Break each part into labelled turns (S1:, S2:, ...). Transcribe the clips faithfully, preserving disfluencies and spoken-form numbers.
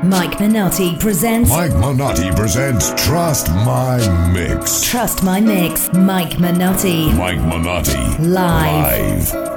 S1: Mike Minotti presents.
S2: Mike Minotti presents Trust My Mix.
S1: Trust My Mix. Mike Minotti.
S2: Mike Minotti.
S1: Live.
S2: Live.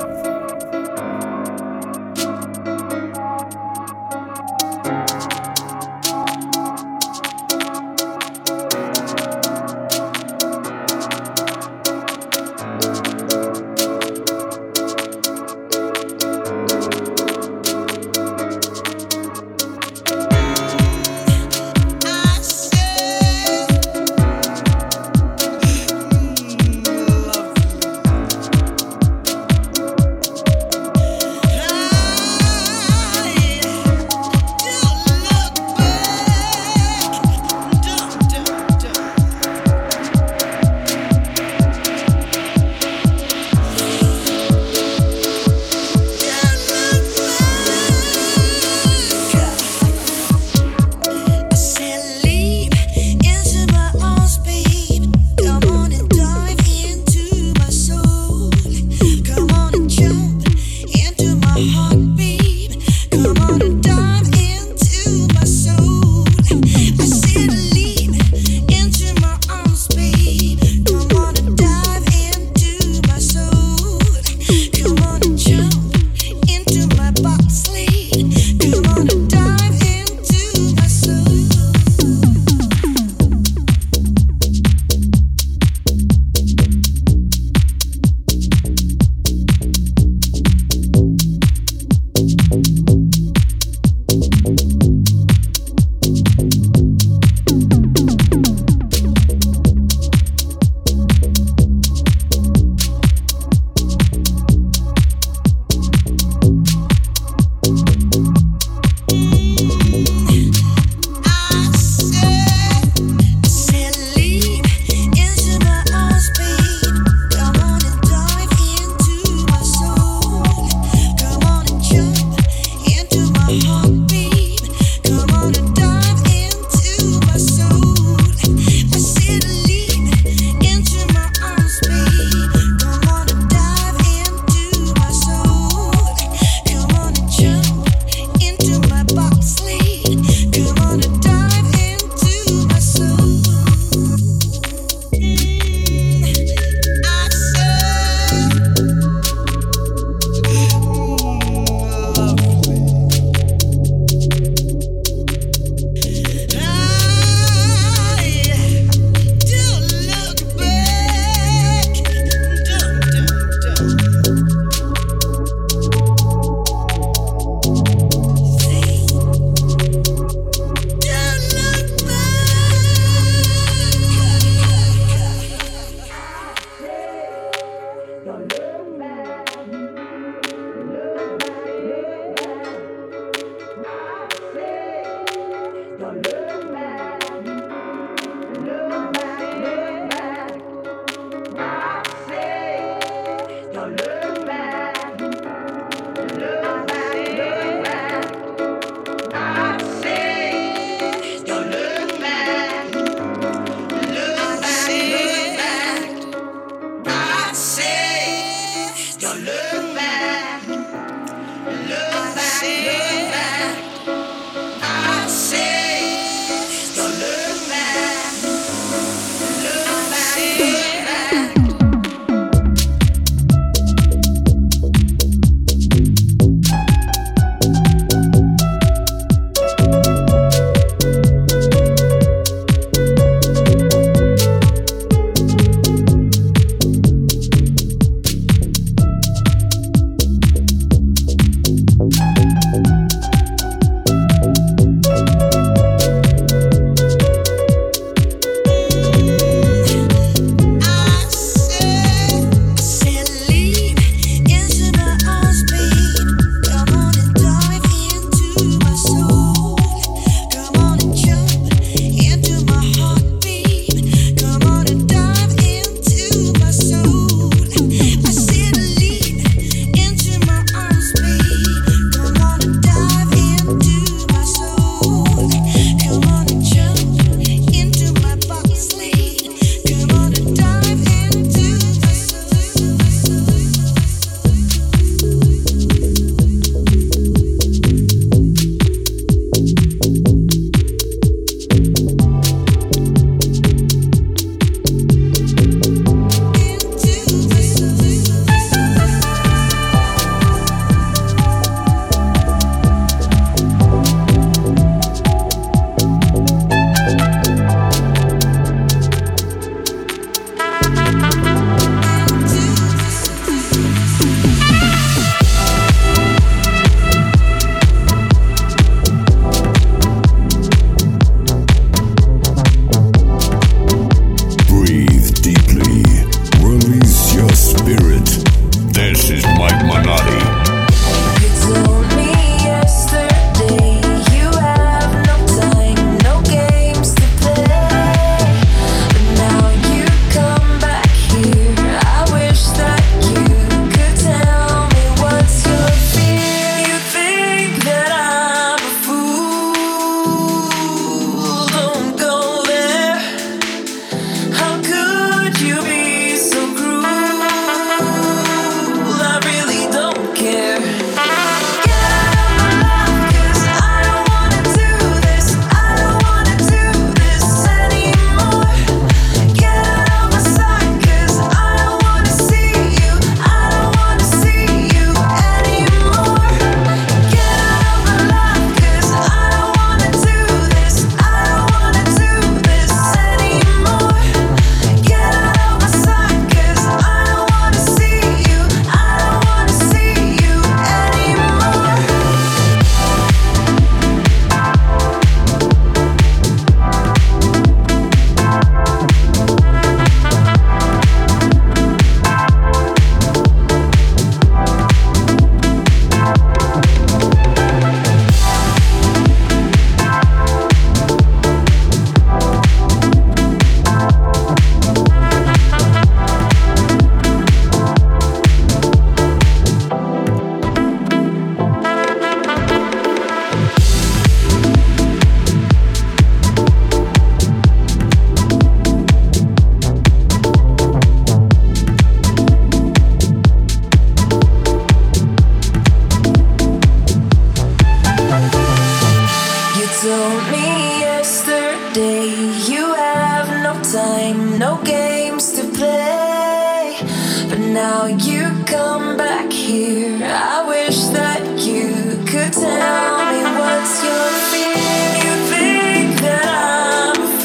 S3: told me yesterday you have no time, no games to play. But now you come back here. I wish that you could tell me what's your fear. You think that I'm a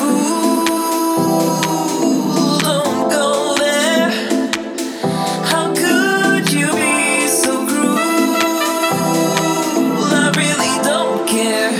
S3: fool. Don't go there. How could you be so cruel? I really don't care.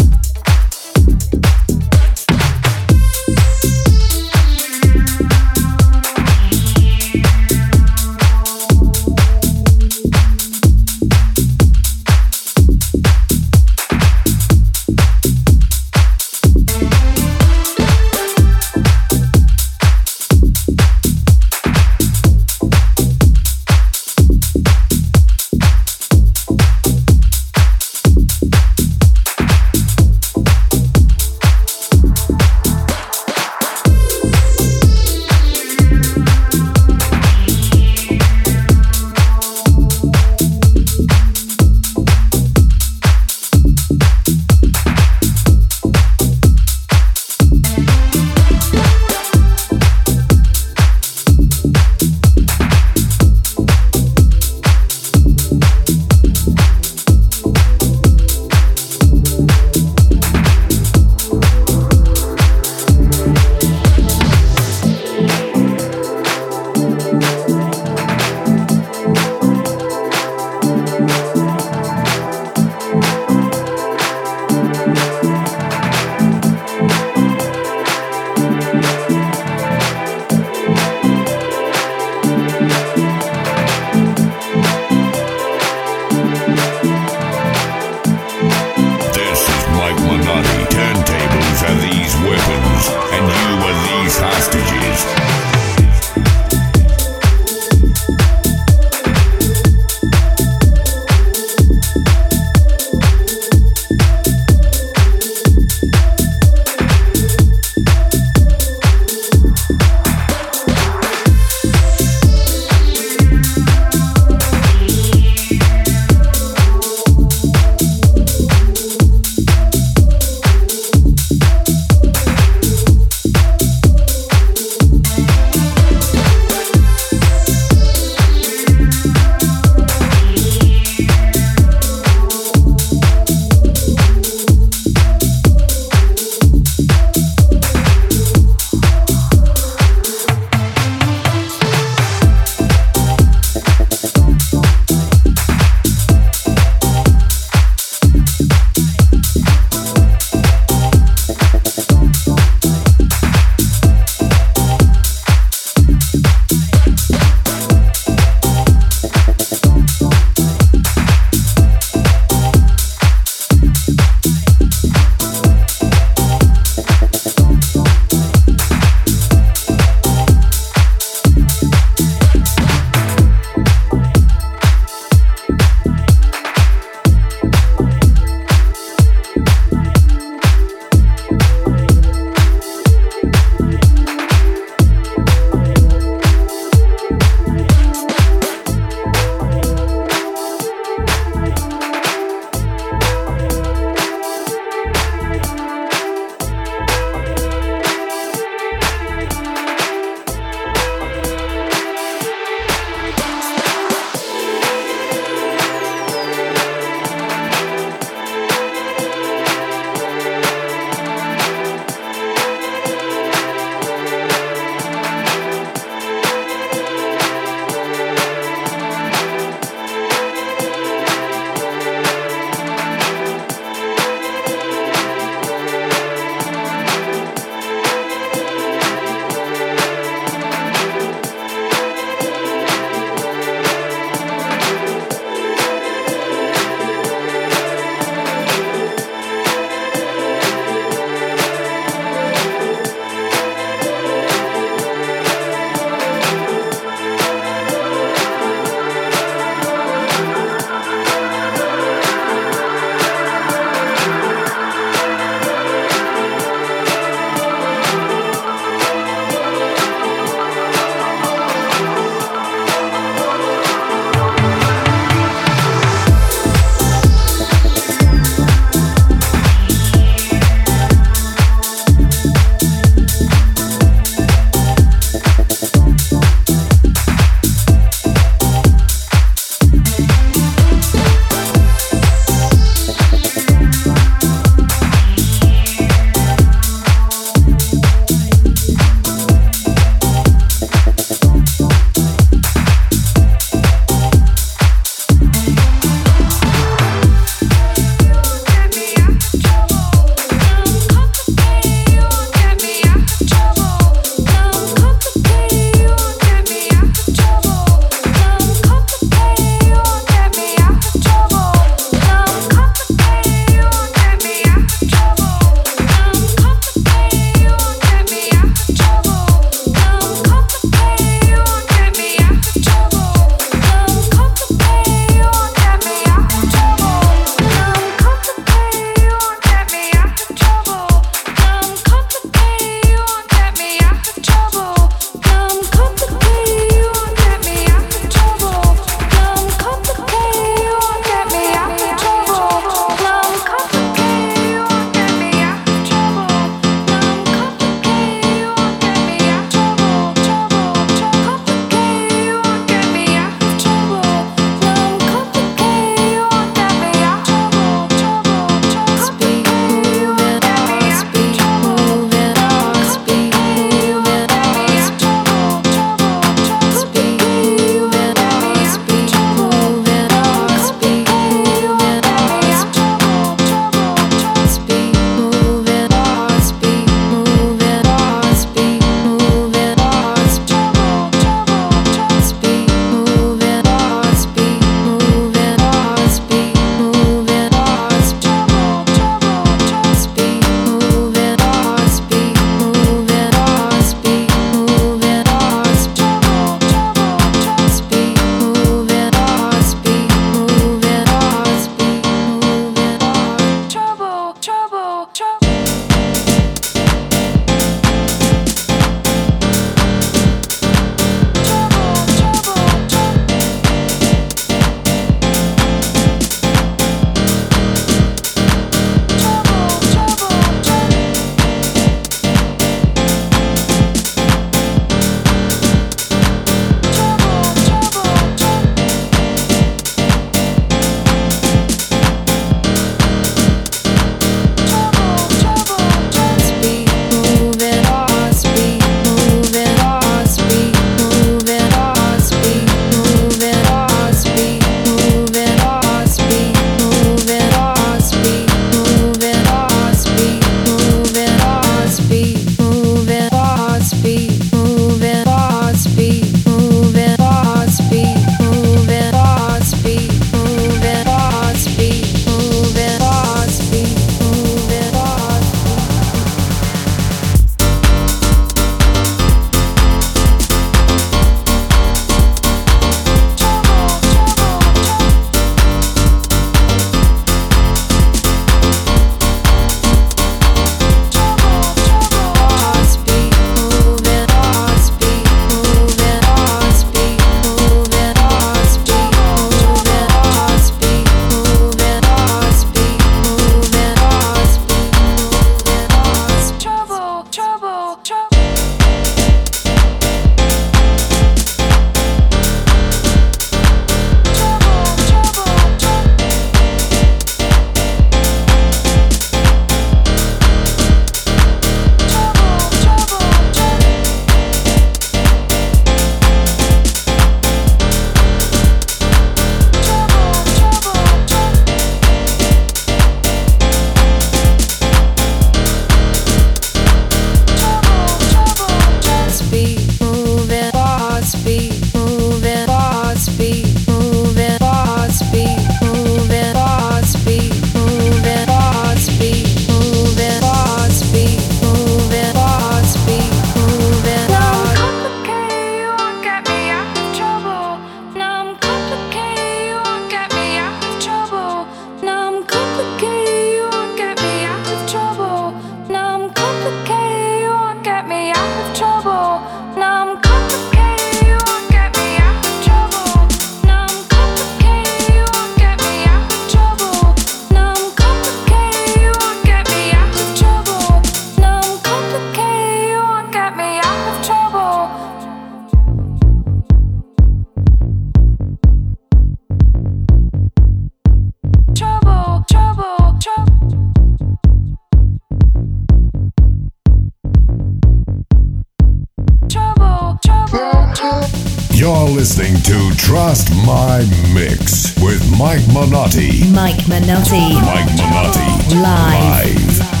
S2: You're listening to Trust My Mix with Mike Minotti.
S1: Mike Minotti.
S2: Mike Minotti.
S1: Live.
S2: Live.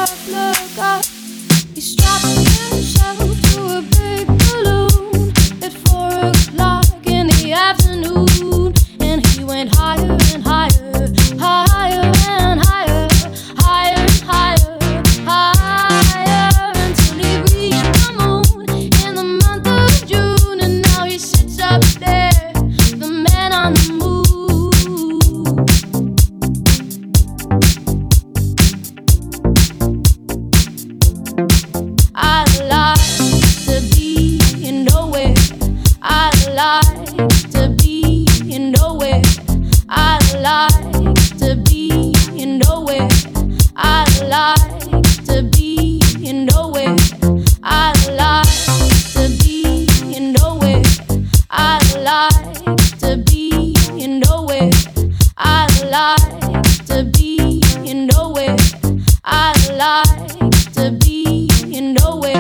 S4: up, look up. He strapped himself to a big balloon at four o'clock in the afternoon, and he went higher and higher, higher and higher, higher and higher, higher, until he reached the moon in the month of June, and now he sits up there, the man on the moon. I'd like to be in nowhere. I'd like to be in nowhere. I'd like to be in nowhere. I'd like to be in nowhere. I'd like to be in nowhere. I'd like to be in nowhere. I'd like to be in nowhere. I'd like to be in nowhere.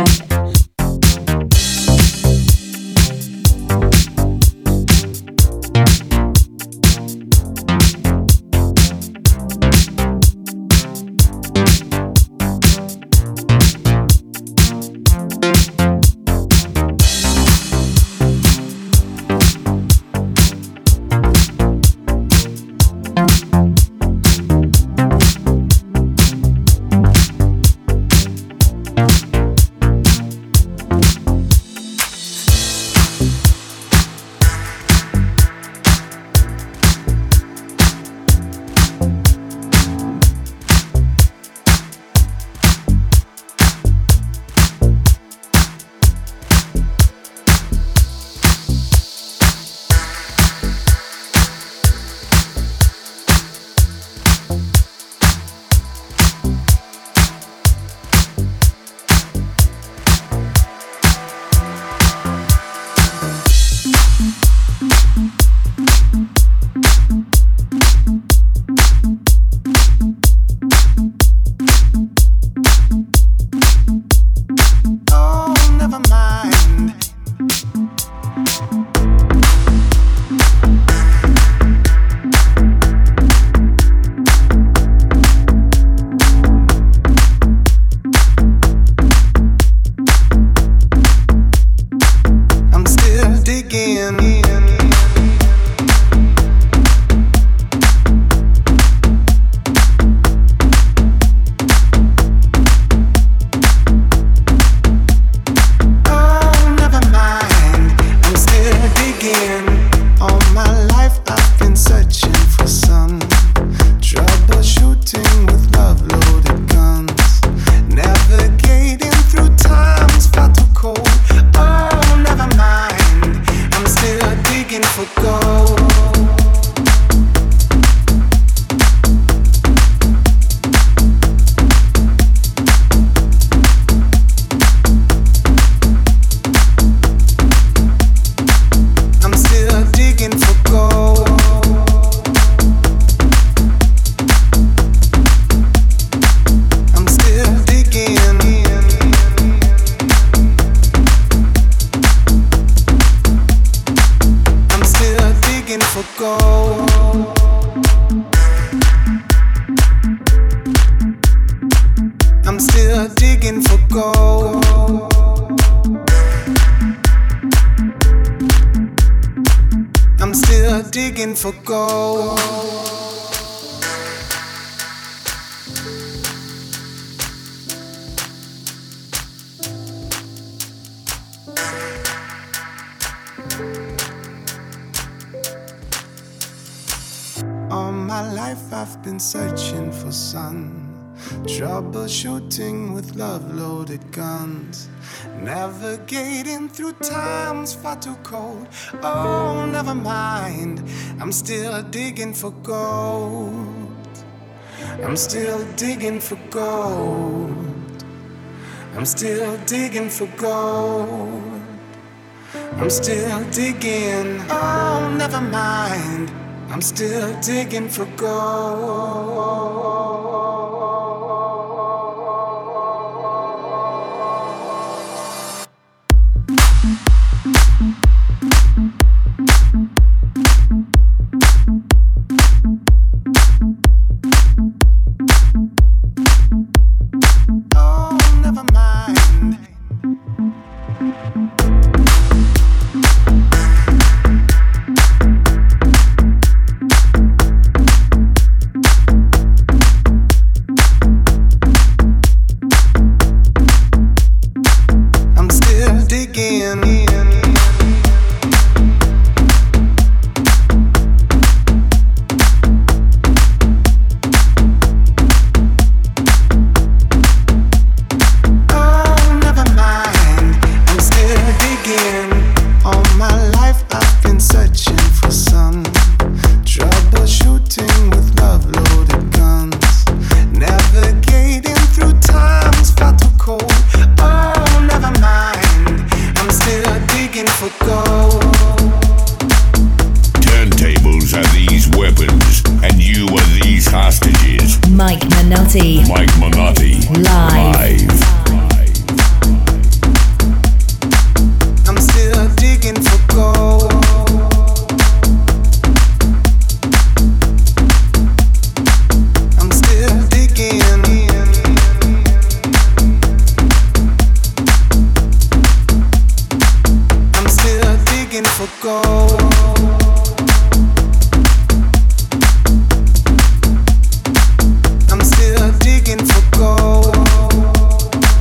S5: For gold. All my life I've been searching for sun, troubleshooting with love-loaded guns, navigating through times far too cold. Oh, never mind, I'm still digging for gold. I'm still digging for gold. I'm still digging for gold. I'm still digging. Oh, never mind, I'm still digging for gold.
S4: We'll be right back.
S1: Mike Minotti.
S2: Mike Minotti.
S1: Live.
S2: Live.
S5: I'm still digging for gold. I'm still digging. I'm still digging for gold. I'm still digging for gold.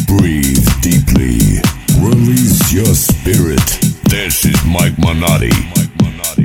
S2: Breathe deeply. Release your spirit. This is Mike Minotti. Mike Minotti.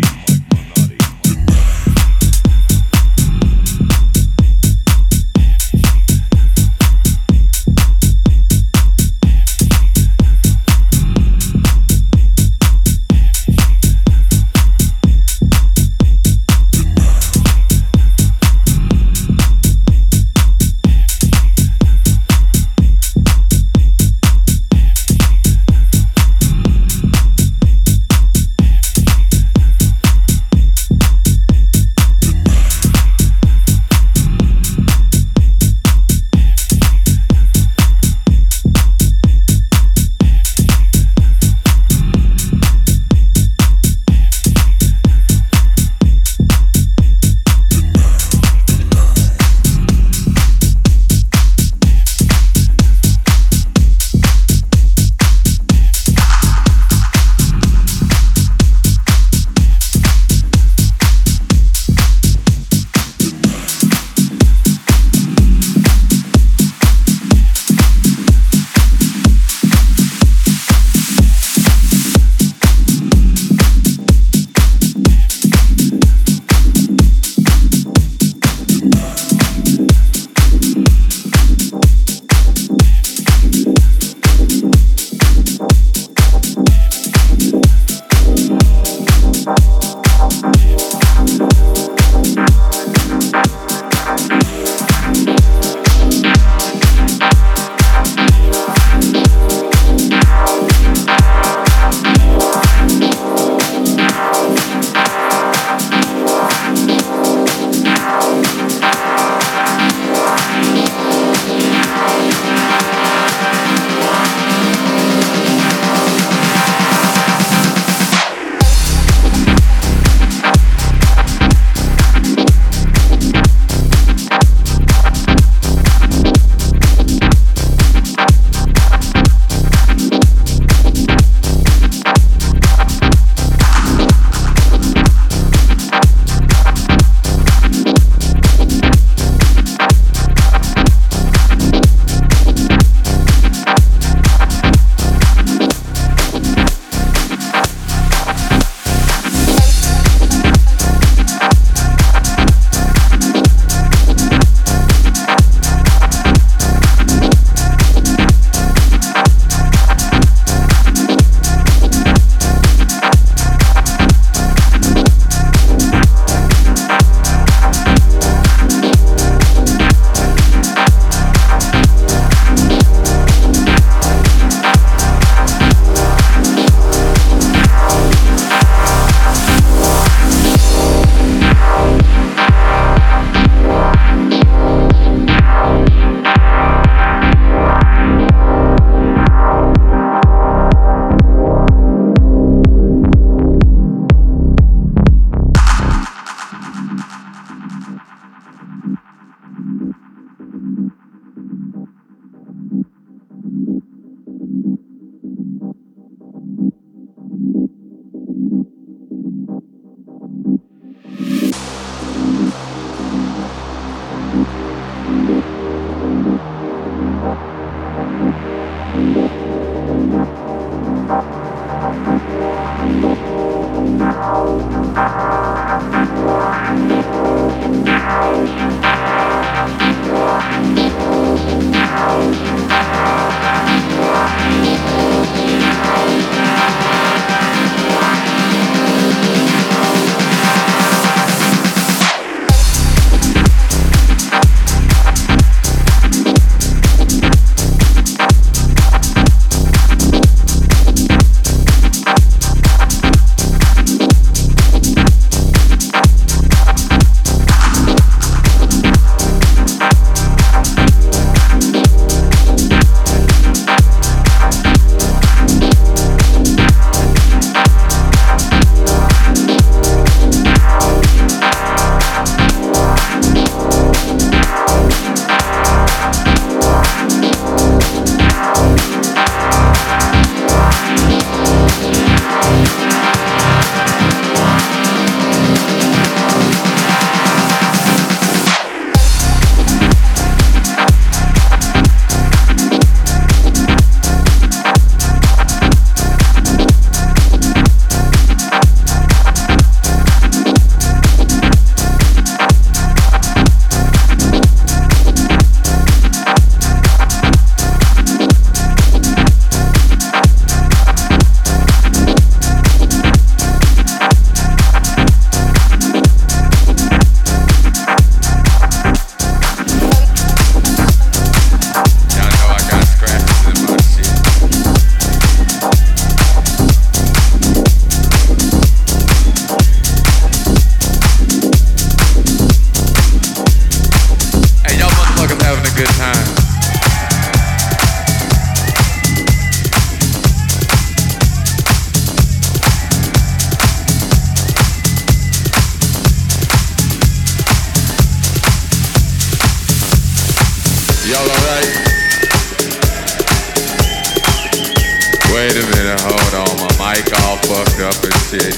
S6: minute, hold on, my mic all fucked up and shit.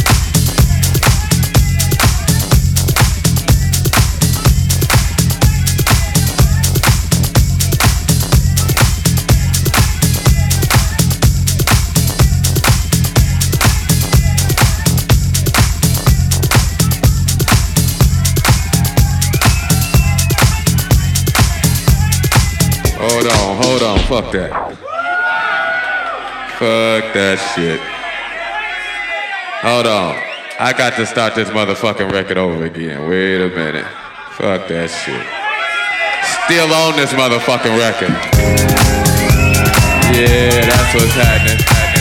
S6: Hold on, hold on, fuck that. Fuck that shit. Hold on. I got to start this motherfucking record over again. Wait a minute. Fuck that shit. Still on this motherfucking record. Yeah, that's what's happening.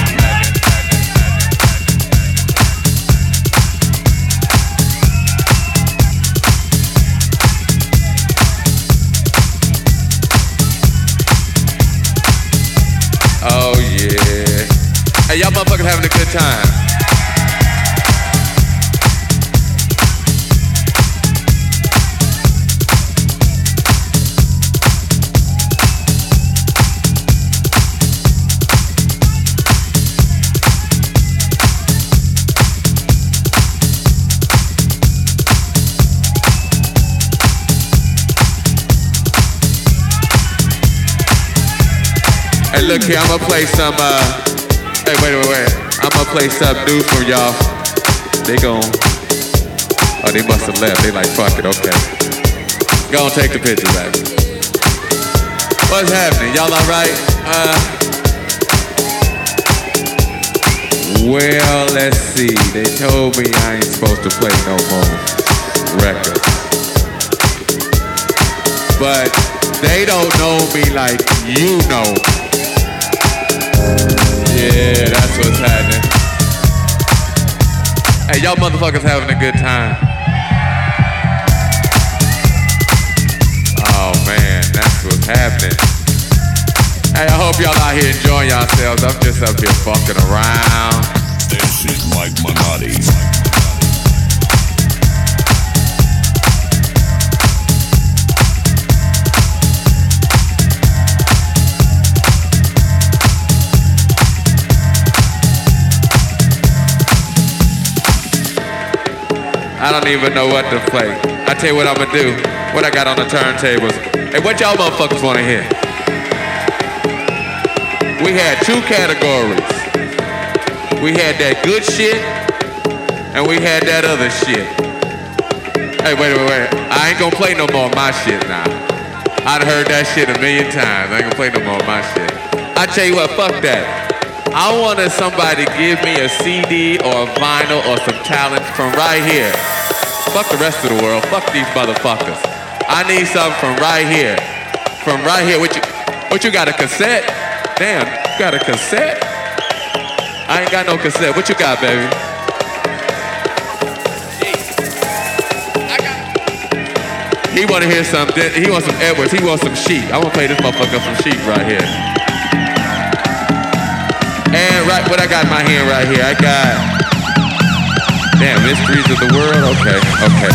S6: Oh yeah. Hey, y'all motherfuckers having a good time. Hey, look here, I'm gonna play some, uh, hey, wait, wait, wait. I'm gonna play some new from y'all. They gon', oh, they must have left. They like, fuck it, okay. Go on, take the picture back. What's happening? Y'all all right? Uh, well, let's see. They told me I ain't supposed to play no more records. But they don't know me like you know. Yeah, that's what's happening. Hey, y'all motherfuckers having a good time. Oh man, that's what's happening. Hey, I hope y'all out here enjoying yourselves. I'm just up here fucking around.
S2: This is Mike Minotti.
S6: I don't even know what to play. I tell you what I'm gonna do. What I got on the turntables. Hey, what y'all motherfuckers wanna hear? We had two categories. We had that good shit, and we had that other shit. Hey, wait, wait, wait. I ain't gonna play no more of my shit now. I'd heard that shit a million times. I ain't gonna play no more of my shit. I tell you what, fuck that. I wanted somebody to give me a C D or a vinyl or some talent from right here. Fuck the rest of the world. Fuck these motherfuckers. I need something from right here. From right here. What you, what you got, a cassette? Damn, you got a cassette? I ain't got no cassette. What you got, baby? I got. He wanna hear something. He wants some Edwards. He wants some Sheep. I wanna play this motherfucker some Sheep right here. And right, what I got in my hand right here, I got, damn, Mysteries of the World, okay, okay.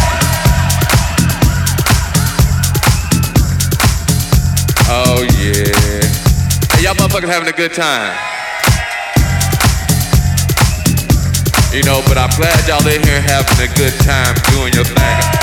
S6: Oh yeah. Hey, y'all motherfuckers having a good time. You know, but I'm glad y'all in here having a good time doing your thing.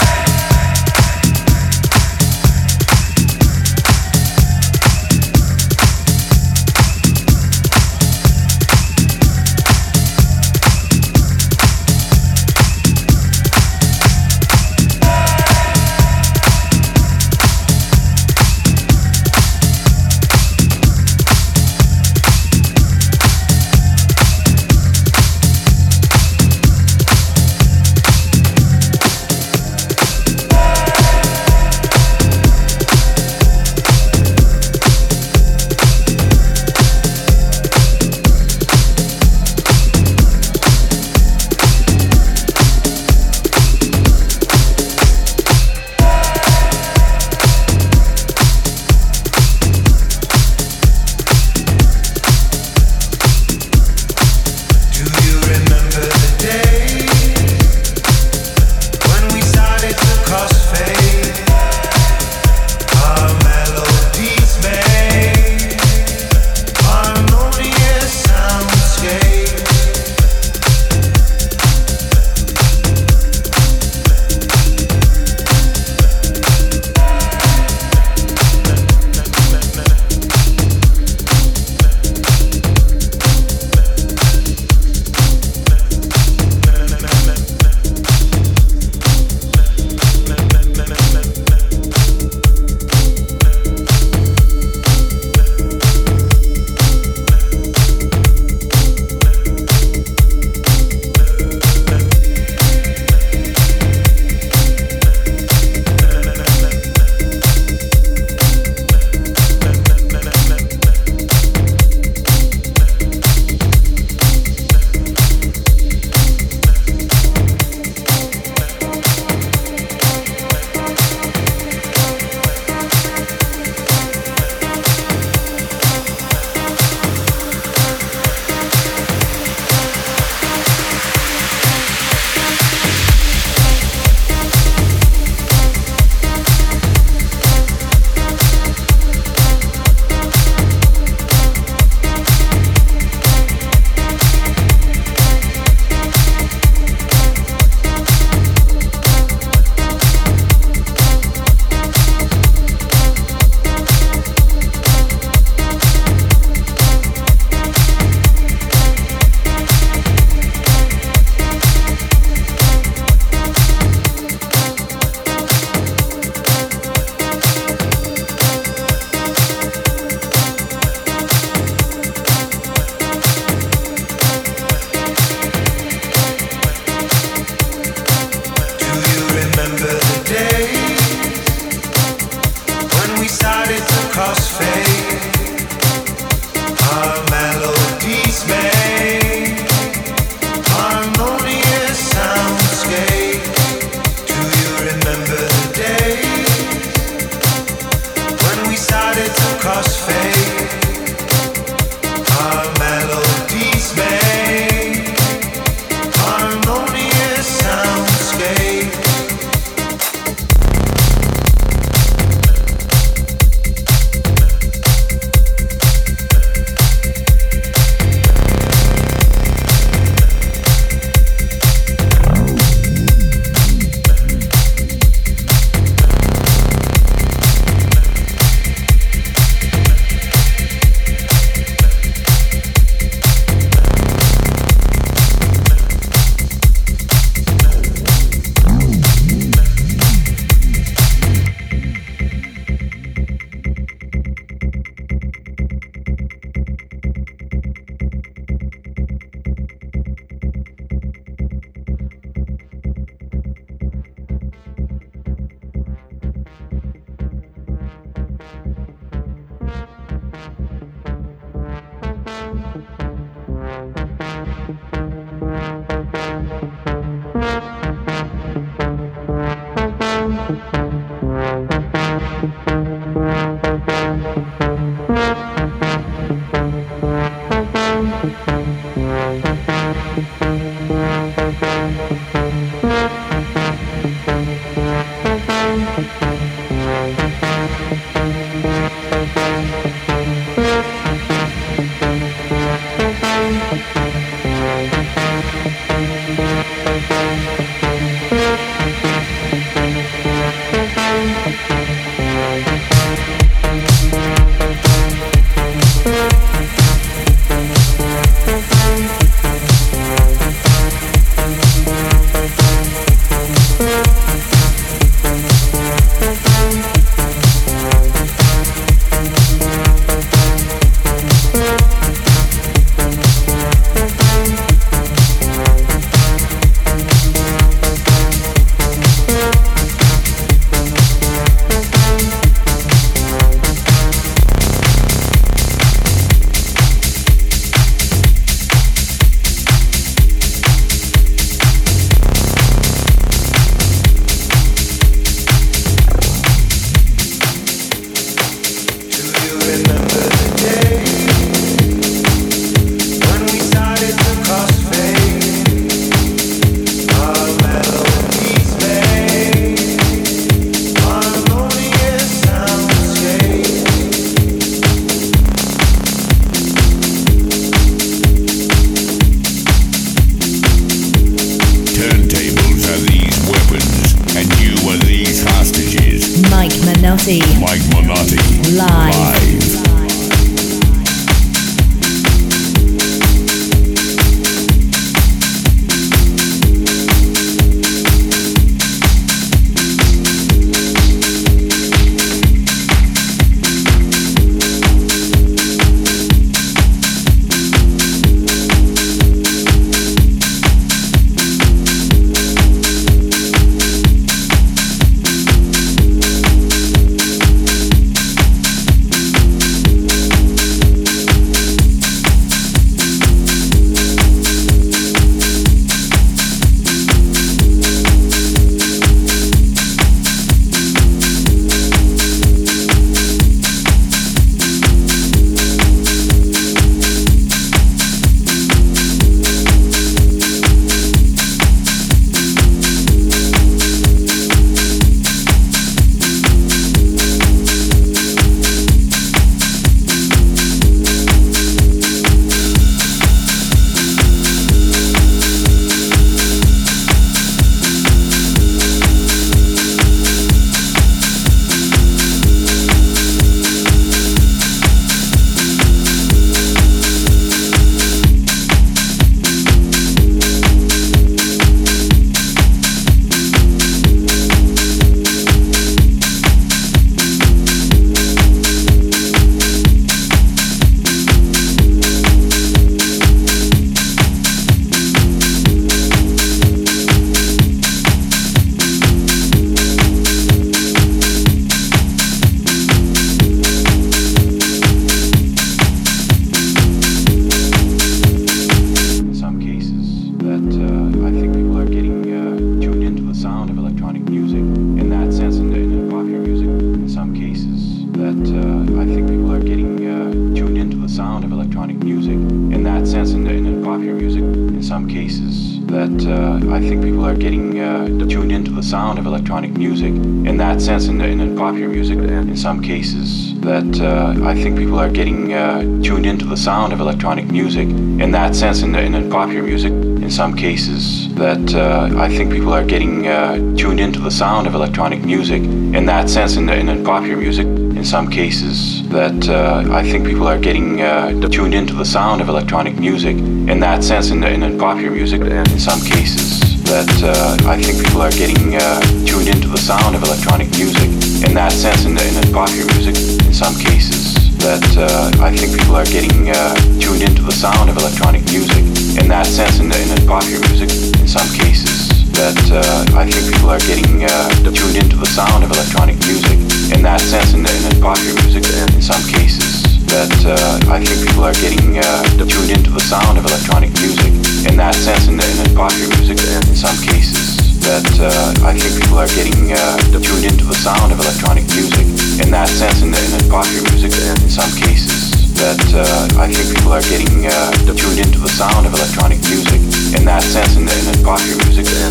S7: popular music in some cases that uh, I think people are getting uh, tuned into the sound of electronic music in that sense in, in, in popular music and in some cases that uh, I think people are getting uh, tuned into the sound of electronic music in that sense in, in, in popular music in some cases that uh, I think people are getting uh, tuned into the sound of electronic music in that sense in, in, in popular music in some cases that uh, I think people are getting uh, tuned into the sound of electronic music in that sense in, in, in popular music and in some cases that uh, I think people are getting uh, tuned into the sound of electronic music in that sense in, in, in popular music in some cases that uh, I think people are getting uh, tuned into the sound of electronic music in that sense in, in, in popular music in some cases that uh, I think people are getting uh, tuned into the sound of electronic music in that sense in, in, in popular music and in some cases that uh, I think people are getting uh, tuned into the sound of electronic music in that sense in, in, in popular music and in some cases that uh, I think people are getting uh, tuned into the sound of electronic music in that sense in, in, in popular music and in some cases that uh, I think people are getting uh, tuned into the sound of electronic music in that sense in, in, in popular music and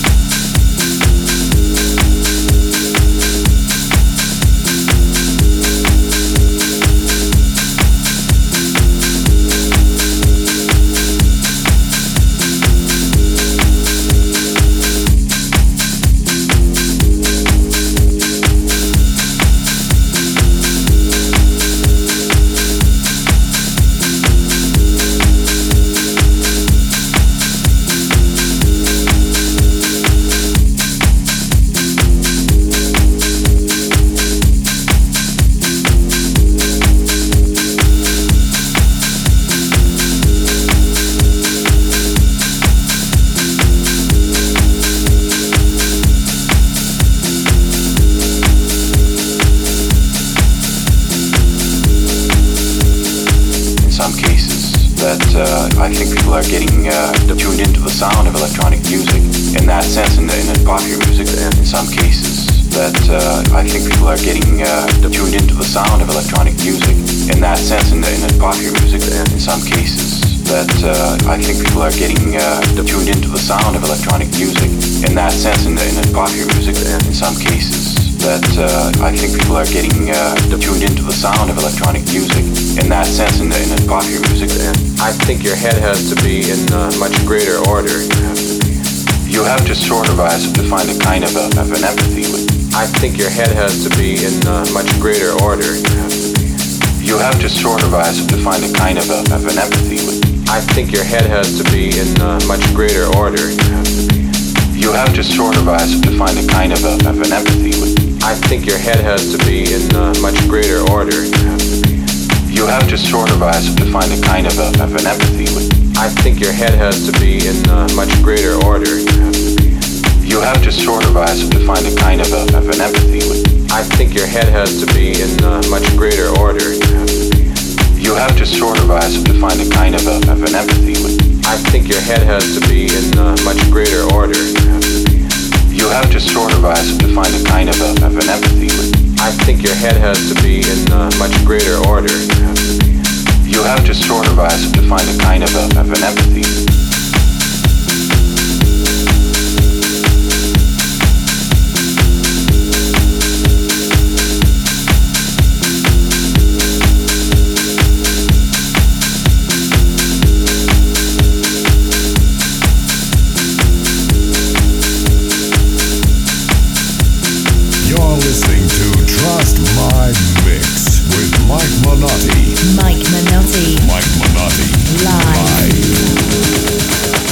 S7: I think people are getting uh, tuned into the sound of electronic music in that sense in, in, in popular music and in some cases that uh, I think people are getting uh, tuned into the sound of electronic music in that sense in, in, in popular music and in some cases that uh, I think people are getting uh, tuned into the sound of electronic music in that sense in, in, in popular music and in some cases that uh, I think people are getting uh, tuned into the sound of electronic music in that sense in, in, in popular music and I think your head has to be in uh, much greater order. You have to sort of as to find a kind of, a, of an empathy with. I think your head has to be in uh, much greater order. You have to sort of as to find a kind of, a, of an empathy with. I think your head has to be in uh, much greater order. You have to sort of as to find a kind of, a, of an empathy with. I think your head has to be in uh, much greater order. You have to sort of as to find a kind of, a, of an empathy with. I think your head has to be in uh, much greater order. You have to sort of as to find a kind of, a, of an empathy with. I think your head has to be in uh, much greater order. You have to sort of as to find a kind of, a, of an empathy with. I think your head has to be in uh, much greater order. You have to sort of as to find a kind of, a, of an empathy with. I think your head has to be in uh, much greater order. You have to sort of as to find a kind of, a, of an empathy.
S2: Listening to Trust My Mix with Mike Minotti.
S1: Mike Minotti.
S2: Mike Minotti.
S1: Live.
S2: Live.